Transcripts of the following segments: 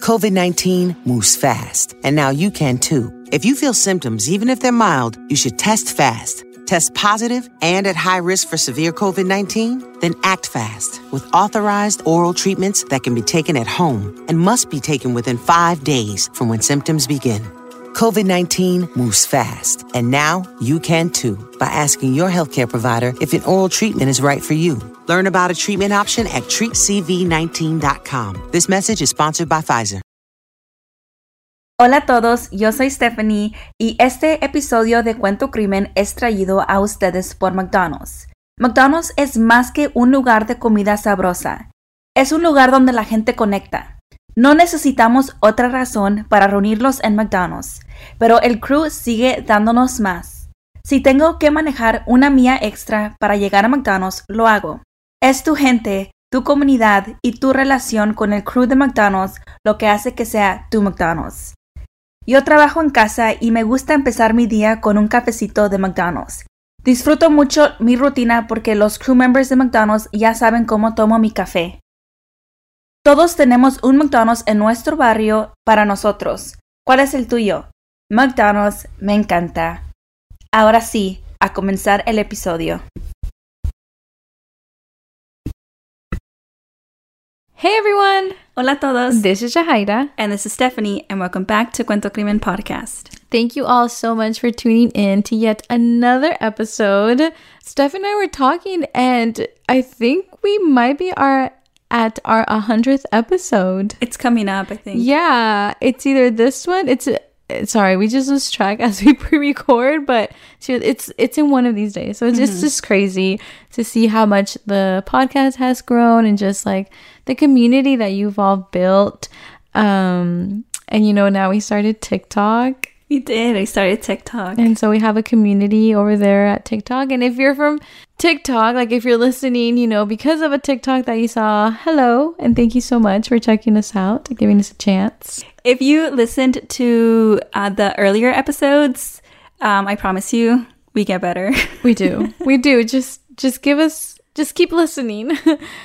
COVID-19 moves fast, and now you can too. If you feel symptoms, even if they're mild, you should test fast. Test positive and at high risk for severe COVID-19? Then act fast with authorized oral treatments that can be taken at home and must be taken within 5 days from when symptoms begin. COVID-19 moves fast, and now you can too by asking your healthcare provider if an oral treatment is right for you. Learn about a treatment option at treatcv19.com. This message is sponsored by Pfizer. Hola a todos, yo soy Stephanie y este episodio de Cuento Crimen es traído a ustedes por McDonald's. McDonald's es más que un lugar de comida sabrosa. Es un lugar donde la gente conecta. No necesitamos otra razón para reunirlos en McDonald's, pero el crew sigue dándonos más. Si tengo que manejar una milla extra para llegar a McDonald's, lo hago. Es tu gente, tu comunidad y tu relación con el crew de McDonald's lo que hace que sea tu McDonald's. Yo trabajo en casa y me gusta empezar mi día con un cafecito de McDonald's. Disfruto mucho mi rutina porque los crew members de McDonald's ya saben cómo tomo mi café. Todos tenemos un McDonald's en nuestro barrio para nosotros. ¿Cuál es el tuyo? McDonald's me encanta. Ahora sí, a comenzar el episodio. Hey everyone! Hola a todos. This is Jahaira. And this is Stephanie, and welcome back to Cuento Crimen Podcast. Thank you all so much for tuning in to yet another episode. Steph and I were talking, and I think we might be at our 100th episode. It's coming up, I think. Yeah, it's either this one. Sorry, we just lose track as we pre-record, but it's in one of these days. So it's just crazy to see how much the podcast has grown and just like the community that you've all built. And you know, now we started TikTok. We did. We started TikTok. And so we have a community over there at TikTok. And if you're from TikTok, like if you're listening, you know, because of a TikTok that you saw, hello. And thank you so much for checking us out, giving us a chance. If you listened to the earlier episodes, I promise you, we get better. We do. We do. Just keep listening.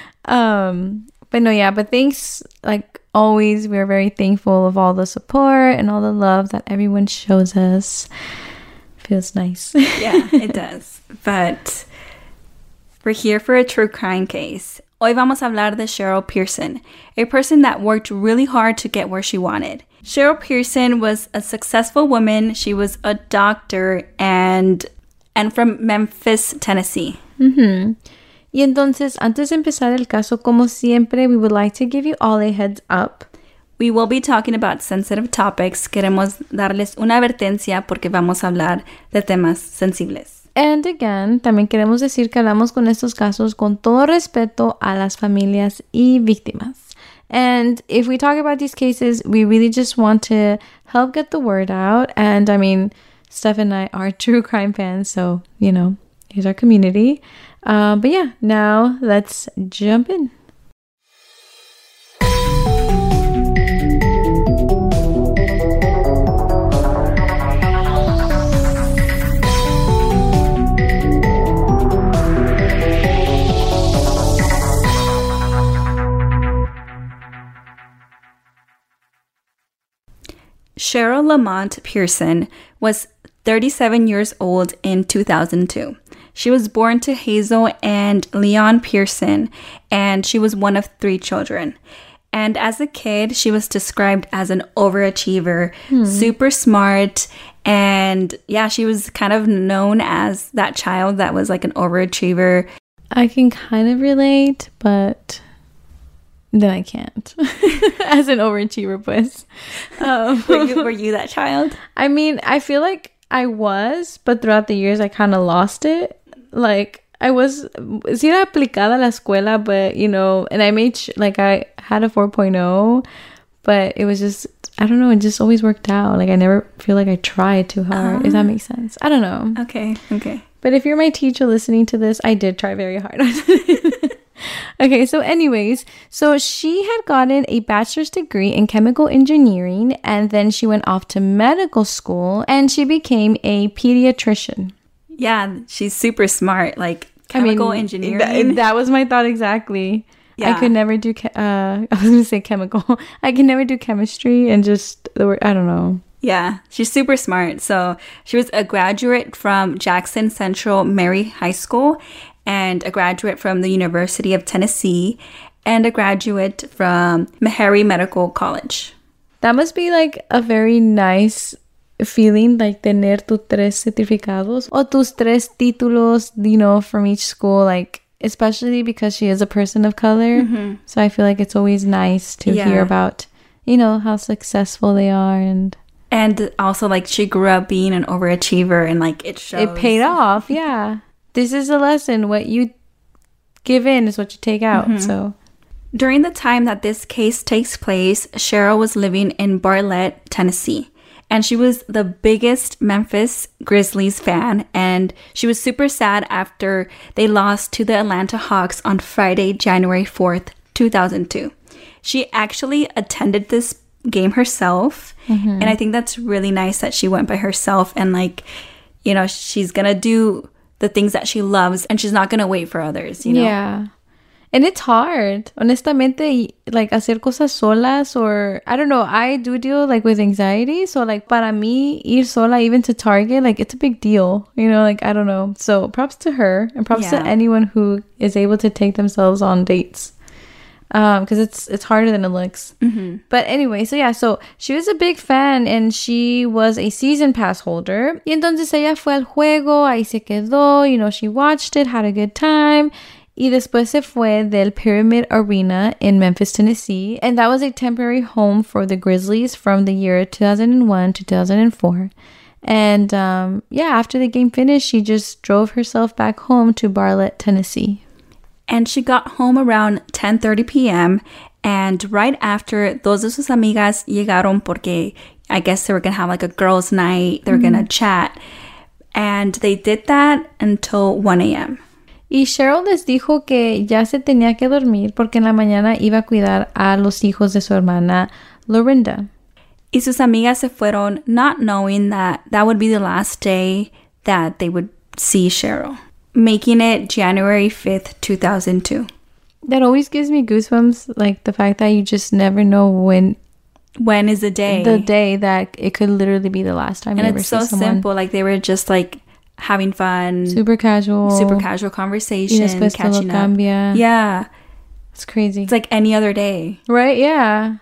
But no, yeah, but thanks, like always, we're very thankful of all the support and all the love that everyone shows us. Feels nice. Yeah, it does. But we're here for a true crime case. Hoy vamos a hablar de Cheryl Pearson, a person that worked really hard to get where she wanted. Cheryl Pearson was a successful woman. She was a doctor and from Memphis, Tennessee. Mm-hmm. Y entonces, antes de empezar el caso, como siempre, we would like to give you all a heads up. We will be talking about sensitive topics. Queremos darles una advertencia porque vamos a hablar de temas sensibles. And again, también queremos decir que hablamos con estos casos con todo respeto a las familias y víctimas. And if we talk about these cases, we really just want to help get the word out. And I mean, Steph and I are true crime fans, so, you know, here's our community. But yeah, now let's jump in. Cheryl Lamont Pearson was 37 years old in 2002. She was born to Hazel and Leon Pearson, and she was one of 3 children. And as a kid, she was described as an overachiever, super smart, and yeah, she was kind of known as that child that was like an overachiever. I can kind of relate, but then I can't. As an overachiever, pues. Were you that child? I mean, I feel like I was, but throughout the years, I kind of lost it. Like, I was, sí era aplicada a la escuela, but, you know, and I made, I had a 4.0, but it was just, I don't know, it just always worked out. Like, I never feel like I tried too hard, if that makes sense. I don't know. Okay. But if you're my teacher listening to this, I did try very hard. Okay, so anyways, so she had gotten a bachelor's degree in chemical engineering, and then she went off to medical school, and she became a pediatrician. Yeah, she's super smart, like chemical engineering. That was my thought exactly. I could never do, I was going to say chemical. I can never do chemistry and just the word, I don't know. Yeah, she's super smart. So she was a graduate from Jackson Central Mary High School and a graduate from the University of Tennessee and a graduate from Meharry Medical College. That must be like a very nice feeling, like tener tus tres certificados o tus tres títulos, you know, from each school, like especially because she is a person of color. Mm-hmm. So I feel like it's always nice to hear about, you know, how successful they are. And also, like, she grew up being an overachiever and, like, it shows. It paid off, yeah. This is a lesson. What you give in is what you take out, so. During the time that this case takes place, Cheryl was living in Bartlett, Tennessee. And she was the biggest Memphis Grizzlies fan. And she was super sad after they lost to the Atlanta Hawks on Friday, January 4th, 2002. She actually attended this game herself. And I think that's really nice that she went by herself. And, like, you know, she's going to do the things that she loves. And she's not going to wait for others, you know? Yeah. And it's hard, honestamente, like, hacer cosas solas, or, I don't know, I do deal, like, with anxiety, so, like, para mí, ir sola even to Target, like, it's a big deal, you know, like, I don't know, so, props to her, and props to anyone who is able to take themselves on dates, because it's harder than it looks. But anyway, so she was a big fan, and she was a season pass holder, y entonces ella fue al juego, ahí se quedó, you know, she watched it, had a good time, y después se fue del Pyramid Arena in Memphis, Tennessee. And that was a temporary home for the Grizzlies from the year 2001 to 2004. And after the game finished, she just drove herself back home to Bartlett, Tennessee. And she got home around 10:30 p.m. And right after, dos de sus amigas llegaron porque I guess they were going to have like a girls' night. They were going to chat. And they did that until 1 a.m. Y Cheryl les dijo que ya se tenía que dormir porque en la mañana iba a cuidar a los hijos de su hermana, Lorinda. Y sus amigas se fueron not knowing that that would be the last day that they would see Cheryl, making it January 5th, 2002. That always gives me goosebumps, like the fact that you just never know when is the day. The day that it could literally be the last time you ever see someone. And it's so simple, like they were just like having fun, super casual conversation, catching up. Yeah, it's crazy. It's like any other day, right? Yeah.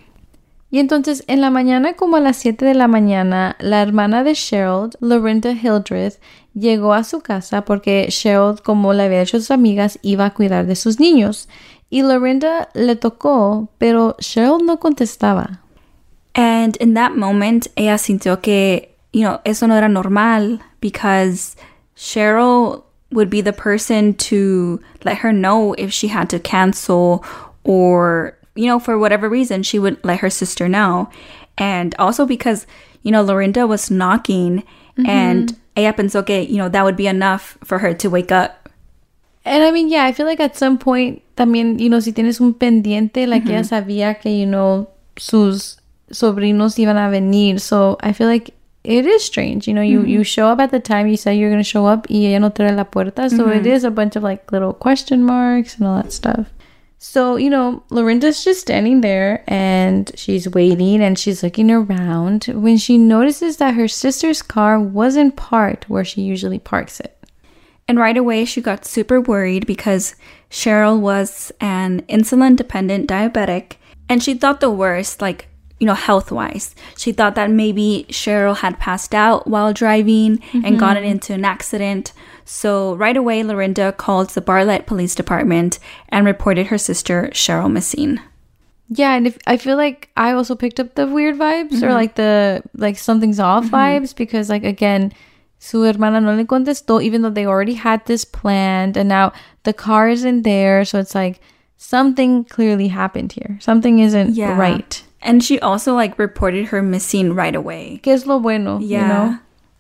Y entonces en la mañana, como a las 7 de la mañana, la hermana de Cheryl, Lorinda Hildreth, llegó a su casa porque Cheryl, como le había dicho a sus amigas, iba a cuidar de sus niños. Y Lorinda le tocó, pero Cheryl no contestaba. And in that moment, ella sintió que, you know, eso no era normal, because Cheryl would be the person to let her know if she had to cancel, or, you know, for whatever reason, she would let her sister know. And also because, you know, Lorinda was knocking, and ella pensó que, you know, that would be enough for her to wake up. And I mean, yeah, I feel like at some point, también, you know, si tienes un pendiente, like ella sabía que, you know, sus sobrinos iban a venir. So I feel like it is strange, you know, you show up at the time you said you're going to show up y ella no te abre la puerta. So it is a bunch of like little question marks and all that stuff. So, you know, Lorinda's just standing there and she's waiting and she's looking around when she notices that her sister's car wasn't parked where she usually parks it. And right away, she got super worried because Cheryl was an insulin-dependent diabetic, and she thought the worst, like, you know, health-wise. She thought that maybe Cheryl had passed out while driving and gotten into an accident. So right away, Lorinda called the Bartlett Police Department and reported her sister, Cheryl, missing. Yeah, and I feel like I also picked up the weird vibes or like the, like, something's off vibes, because, like, again, su hermana no le contestó, even though they already had this planned, and now the car isn't there. So it's like something clearly happened here. Something isn't right. And she also, like, reported her missing right away. Que es lo bueno, you know?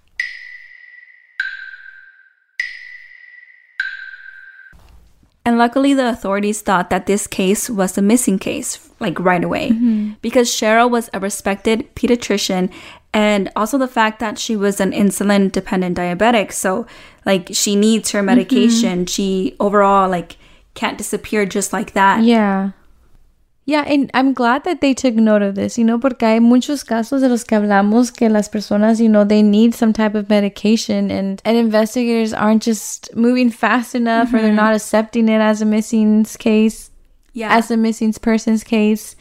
And luckily, the authorities thought that this case was a missing case, like, right away. Because Cheryl was a respected pediatrician, and also the fact that she was an insulin-dependent diabetic. So, like, she needs her medication. She overall, like, can't disappear just like that. Yeah. Yeah, and I'm glad that they took note of this, porque hay muchos casos de los que hablamos que las personas, they need some type of medication and investigators aren't just moving fast enough or they're not accepting it as a missing case, as a missing person's case.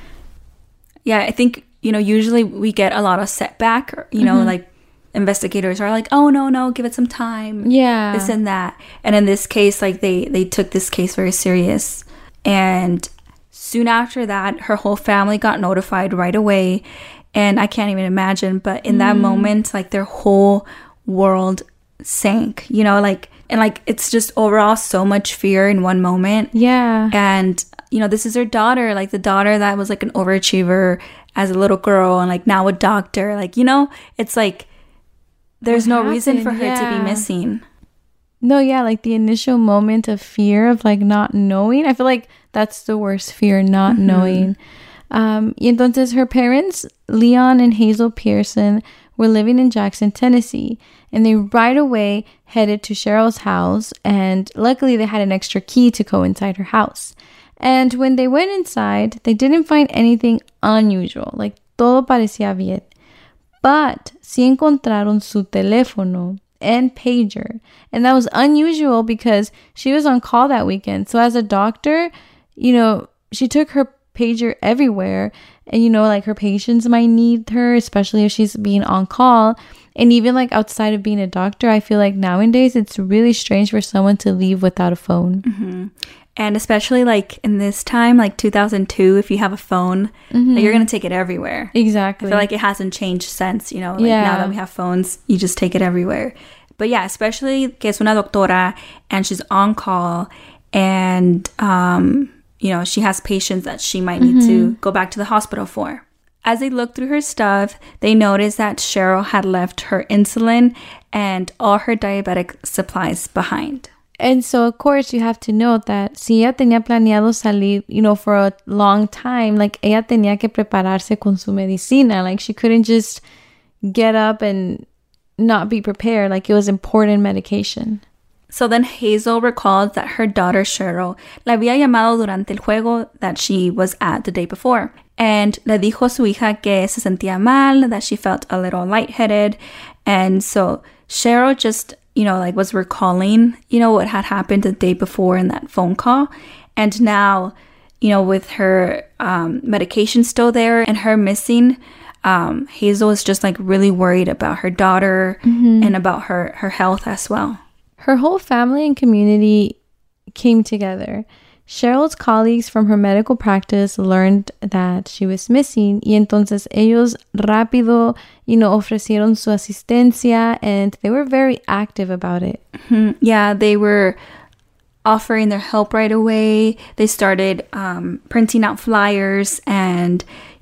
Yeah, I think, usually we get a lot of setback, like investigators are like, oh, no, give it some time. Yeah. This and that. And in this case, like they took this case very serious. And soon after that, her whole family got notified right away. And I can't even imagine, but in that moment, like their whole world sank, and it's just overall so much fear in one moment. Yeah. And, this is her daughter, like the daughter that was like an overachiever as a little girl and like now a doctor. Like, it's like there's no reason for her to be missing. No, yeah, like the initial moment of fear of like not knowing. I feel like that's the worst fear, not knowing. Y entonces her parents, Leon and Hazel Pearson, were living in Jackson, Tennessee, and they right away headed to Cheryl's house, and luckily they had an extra key to go inside her house. And when they went inside, they didn't find anything unusual, like todo parecía bien. But sí encontraron su teléfono and pager. And that was unusual because she was on call that weekend. So as a doctor, she took her pager everywhere. And, like her patients might need her, especially if she's being on call. And even like outside of being a doctor, I feel like nowadays it's really strange for someone to leave without a phone. Mm-hmm. And especially like in this time, like 2002, if you have a phone, like, you're going to take it everywhere. Exactly. I feel like it hasn't changed since, now that we have phones, you just take it everywhere. But yeah, especially que es una doctora and she's on call and, she has patients that she might need to go back to the hospital for. As they looked through her stuff, they noticed that Cheryl had left her insulin and all her diabetic supplies behind. And so, of course, you have to note that si ella tenía planeado salir, for a long time, like, ella tenía que prepararse con su medicina. Like, she couldn't just get up and not be prepared. Like, it was important medication. So then Hazel recalled that her daughter Cheryl la había llamado durante el juego that she was at the day before. And le dijo a su hija que se sentía mal, that she felt a little lightheaded. And so Cheryl just, was recalling, what had happened the day before in that phone call. And now, with her medication still there and her missing, Hazel is just like really worried about her daughter and about her health as well. Her whole family and community came together. Cheryl's colleagues from her medical practice learned that she was missing y entonces ellos rápido, ofrecieron su asistencia and they were very active about it. Yeah, they were offering their help right away. They started printing out flyers and,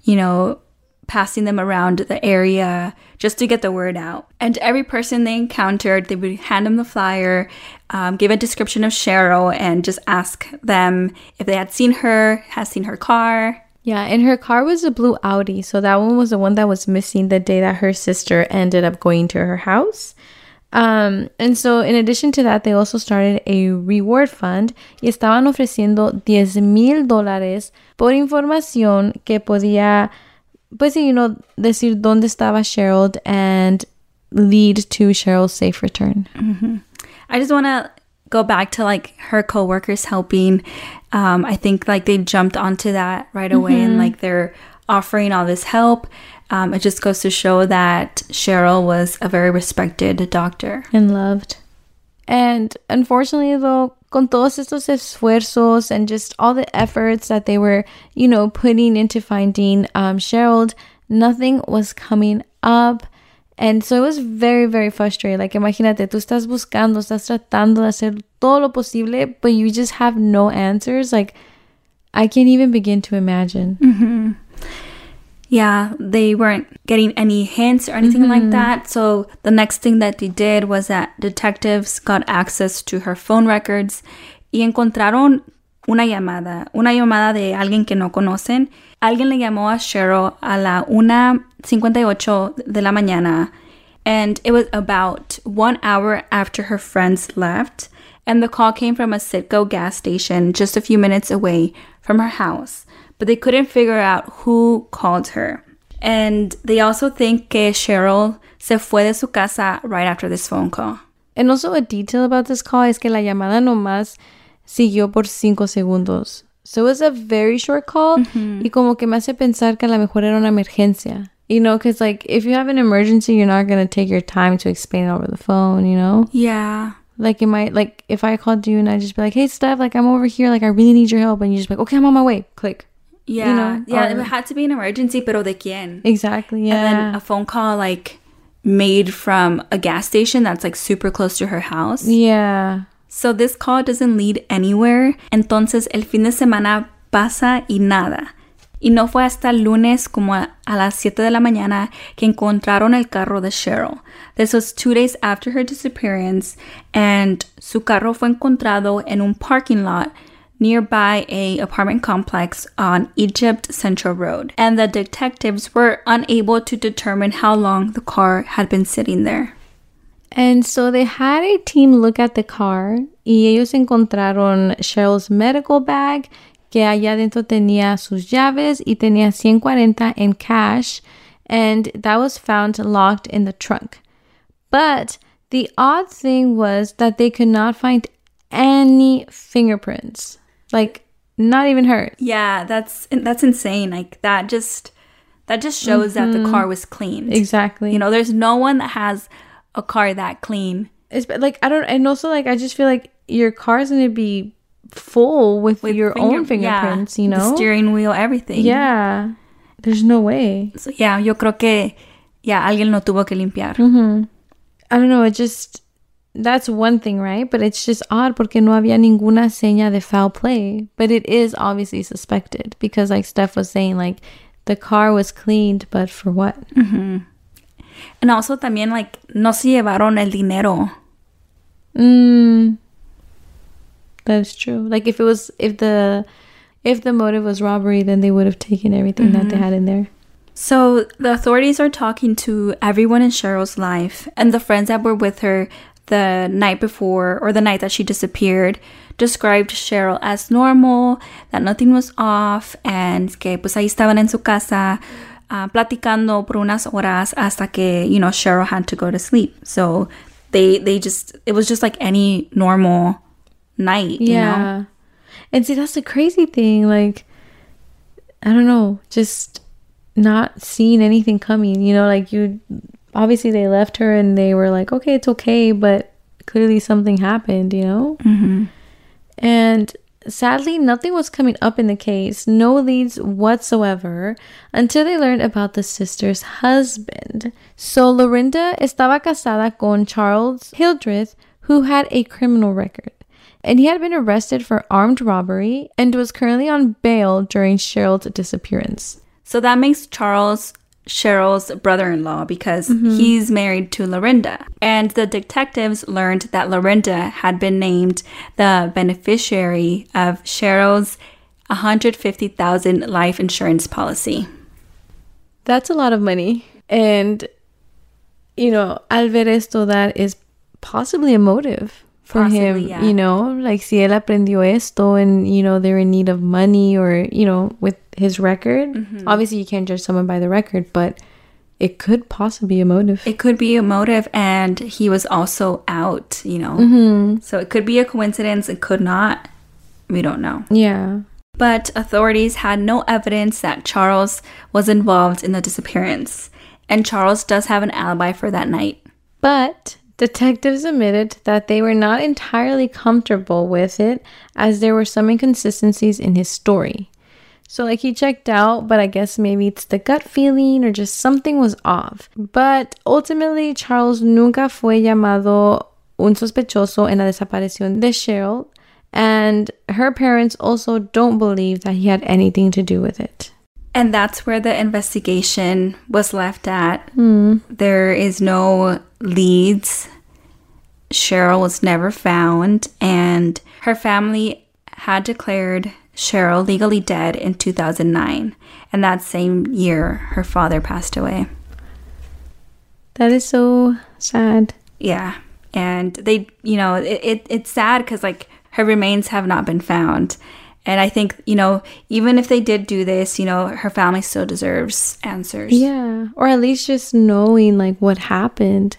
passing them around the area just to get the word out. And every person they encountered, they would hand them the flyer, give a description of Cheryl, and just ask them if they had seen her car. Yeah, and her car was a blue Audi, so that one was the one that was missing the day that her sister ended up going to her house. And so in addition to that, they also started a reward fund y estaban ofreciendo $10,000 por información que podía, pues, decir dónde estaba Cheryl and lead to Cheryl's safe return. I just want to go back to like her coworkers helping. I think like they jumped onto that right away and like they're offering all this help. It just goes to show that Cheryl was a very respected doctor. And loved. And unfortunately though, con todos estos esfuerzos and just all the efforts that they were, putting into finding Cheryl, nothing was coming up. And so it was very, very frustrating. Like, imagínate, tú estás buscando, estás tratando de hacer todo lo posible, but you just have no answers. Like, I can't even begin to imagine. Yeah, they weren't getting any hints or anything like that. So the next thing that they did was that detectives got access to her phone records y encontraron una llamada de alguien que no conocen. Alguien le llamó a Cheryl a la 1:58 de la mañana. And it was about 1 hour after her friends left. And the call came from a Citgo gas station just a few minutes away from her house. But they couldn't figure out who called her. And they also think que Cheryl se fue de su casa right after this phone call. And also a detail about this call es que la llamada nomás siguió por 5 segundos. So it was a very short call. Y como que me hace pensar que a lo mejor era una emergencia. You know, because like if you have an emergency, you're not going to take your time to explain it over the phone, you know? Yeah. Like it might, like if I called you and I just be like, hey, Steph, like I'm over here, like I really need your help. And you just be like, okay, I'm on my way. Click. Yeah. You know? Yeah, it had to be an emergency, pero de quién? Exactly, yeah. And then a phone call like made from a gas station that's like super close to her house. Yeah. So this call doesn't lead anywhere. Entonces el fin de semana pasa y nada. Y no fue hasta el lunes como a las 7 de la mañana que encontraron el carro de Cheryl. This was 2 days after her disappearance, and su carro fue encontrado en un parking lot nearby a apartment complex on Egypt Central Road. And the detectives were unable to determine how long the car had been sitting there. And so they had a team look at the car y ellos encontraron Cheryl's medical bag, que allá dentro tenía sus llaves y tenía 140 en cash, and that was found locked in the trunk. But the odd thing was that they could not find any fingerprints. Like, not even hers. Yeah, that's insane. Like, that just shows that the car was cleaned. Exactly. You know, there's no one that has a car that clean. It's like, and also like, I just feel like your car is going to be full with your own fingerprints, you know? The steering wheel, everything. Yeah. There's no way. So, yeah, yo creo que, alguien lo tuvo que limpiar. I don't know, it just, that's one thing, right? But it's just odd porque no había ninguna seña de foul play. But it is obviously suspected because like Steph was saying, like, the car was cleaned, but for what? And also también, like, no se llevaron el dinero. That's true. Like if the motive was robbery, then they would have taken everything that they had in there. So the authorities are talking to everyone in Cheryl's life, and the friends that were with her the night before, or the night that she disappeared, described Cheryl as normal, that nothing was off, and que pues ahí estaban en su casa platicando por unas horas hasta que, you know, Cheryl had to go to sleep. So it was just like any normal night, you know? And see, that's the crazy thing. Like, I don't know, just not seeing anything coming, you know, like obviously they left her and they were like, okay, it's okay, but clearly something happened, you know? And sadly, nothing was coming up in the case, no leads whatsoever, until they learned about the sister's husband. So Lorinda estaba casada con Charles Hildreth, who had a criminal record. And he had been arrested for armed robbery and was currently on bail during Cheryl's disappearance. So that makes Charles Cheryl's brother-in-law because he's married to Lorinda. And the detectives learned that Lorinda had been named the beneficiary of Cheryl's $150,000 life insurance policy. That's a lot of money. And, you know, al ver esto, that is possibly a motive for him, you know, like si él aprendió esto and, you know, they're in need of money or, you know, with his record. Obviously, you can't judge someone by the record, but it could possibly be a motive. It could be a motive, and he was also out, you know. So it could be a coincidence. It could not. We don't know. Yeah. But authorities had no evidence that Charles was involved in the disappearance. And Charles does have an alibi for that night. But detectives admitted that they were not entirely comfortable with it, as there were some inconsistencies in his story. So like he checked out, but I guess maybe it's the gut feeling or just something was off. But ultimately, Charles nunca fue llamado un sospechoso en la desaparición de Cheryl, and her parents also don't believe that he had anything to do with it. And that's where the investigation was left at. There is no leads. Cheryl was never found, and her family had declared Cheryl legally dead in 2009. And that same year, her father passed away. That is so sad. Yeah. And they, you know, it's sad because like her remains have not been found. And I think, you know, even if they did do this, you know, her family still deserves answers. Yeah, or at least just knowing like what happened.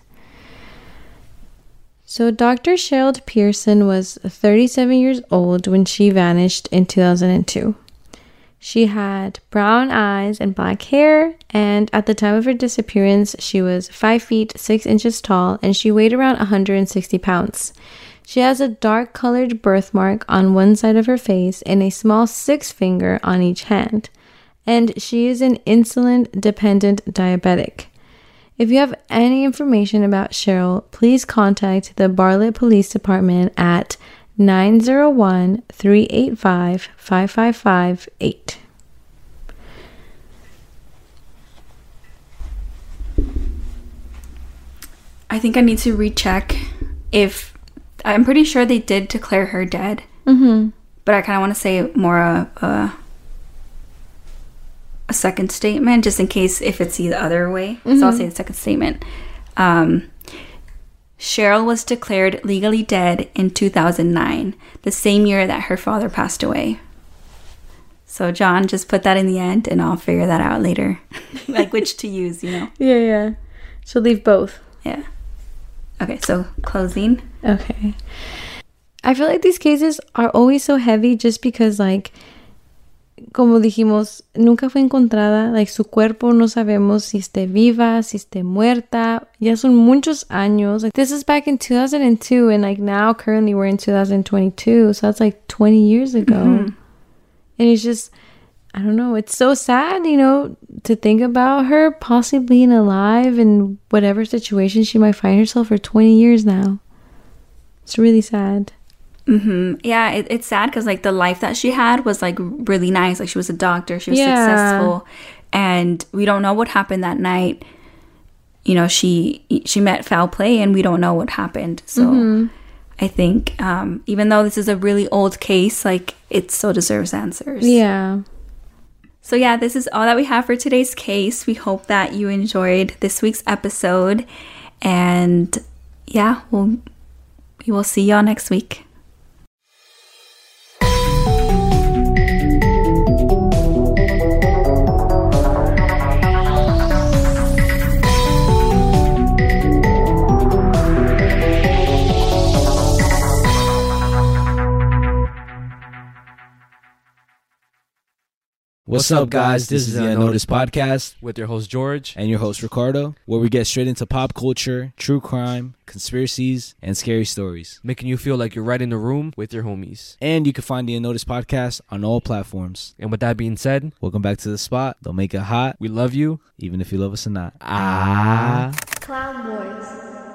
So Dr. Cheryl Pearson was 37 years old when she vanished in 2002. She had brown eyes and black hair, and at the time of her disappearance, she was 5 feet 6 inches tall, and she weighed around 160 pounds. She has a dark-colored birthmark on one side of her face and a small 6 finger on each hand, and she is an insulin-dependent diabetic. If you have any information about Cheryl, please contact the Bartlett Police Department at 901-385-5558. I think I need to recheck if... I'm pretty sure they did declare her dead. Mm-hmm. But I kind of want to say more a second statement, just in case if it's the other way. Mm-hmm. So I'll say the second statement. Cheryl was declared legally dead in 2009, the same year that her father passed away. So John, just put that in the end and I'll figure that out later. Like which to use, you know? Yeah. So leave both. Yeah. Okay, so closing. Okay. I feel like these cases are always so heavy just because, like, como dijimos, nunca fue encontrada. Like, su cuerpo no sabemos si esté viva, si esté muerta. Ya son muchos años. Like, this is back in 2002, and, like, now currently we're in 2022. So that's, like, 20 years ago. Mm-hmm. And it's just, I don't know. It's so sad, you know, to think about her possibly being alive in whatever situation she might find herself for 20 years now. It's really sad. Mm-hmm. Yeah, it's sad because like the life that she had was like really nice. Like she was a doctor, she was successful, and we don't know what happened that night. You know, she met foul play, and we don't know what happened. So I think even though this is a really old case, like it still deserves answers. Yeah. So yeah, this is all that we have for today's case. We hope that you enjoyed this week's episode, and yeah, we will see y'all next week. What's up, guys? This is the Unnoticed Podcast with your host, George. And your host, Ricardo, where we get straight into pop culture, true crime, conspiracies, and scary stories. Making you feel like you're right in the room with your homies. And you can find the Unnoticed Podcast on all platforms. And with that being said, welcome back to the spot. Don't make it hot. We love you, even if you love us or not. Clown Boys.